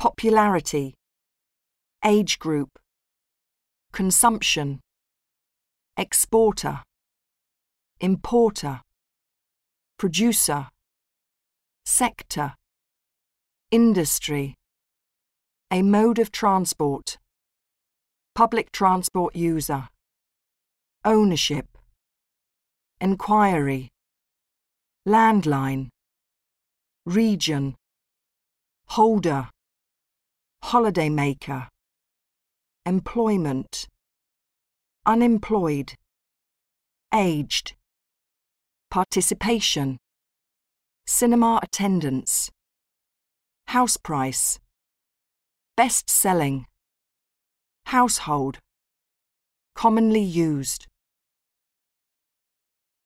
popularity, age group, consumption, exporter, importer, producer, sector, industry, a mode of transport, public transport user, ownership, enquiry, landline, region, holder, holidaymaker, employment, unemployed, aged, participation, cinema attendance, house price, best selling, household, commonly used.